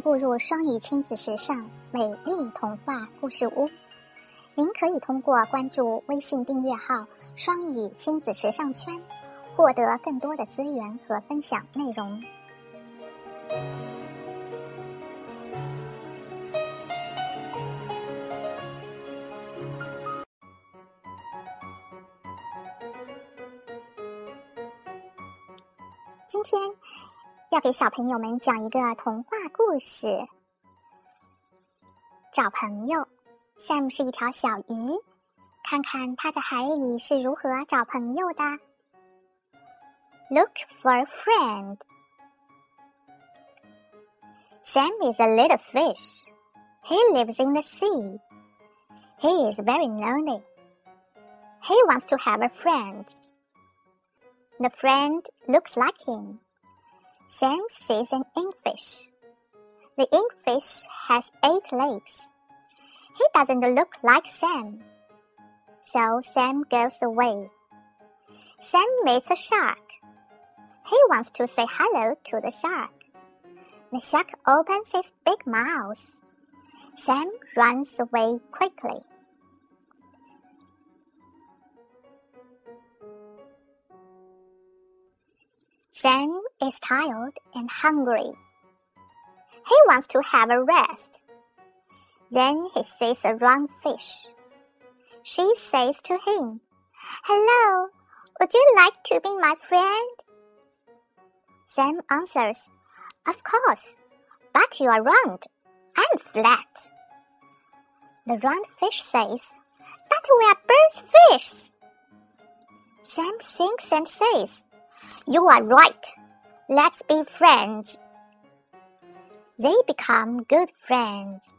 步入双语亲子时尚美丽童话故事屋。您可以通过关注微信订阅号双语亲子时尚圈，获得更多的资源和分享内容。今天要给小朋友们讲一个童话故事。找朋友， Sam 是一条小鱼，看看他在海里是如何找朋友的。 Look for a friend. Sam is a little fish. He lives in the sea. He is very lonely. He wants to have a friend. The friend looks like him. Sam sees an inkfish. The inkfish has 8 legs. He doesn't look like Sam. So Sam goes away. Sam meets a shark. He wants to say hello to the shark. The shark opens his big mouth. Sam runs away quickly. Sam is tired and hungry. He wants to have a rest. Then he sees a round fish. She says to him, "Hello, would you like to be my friend?" Sam answers, "Of course, but you are round and flat." The round fish says, "But we are both fish." Sam thinks and says, "You are right. Let's be friends." They become good friends.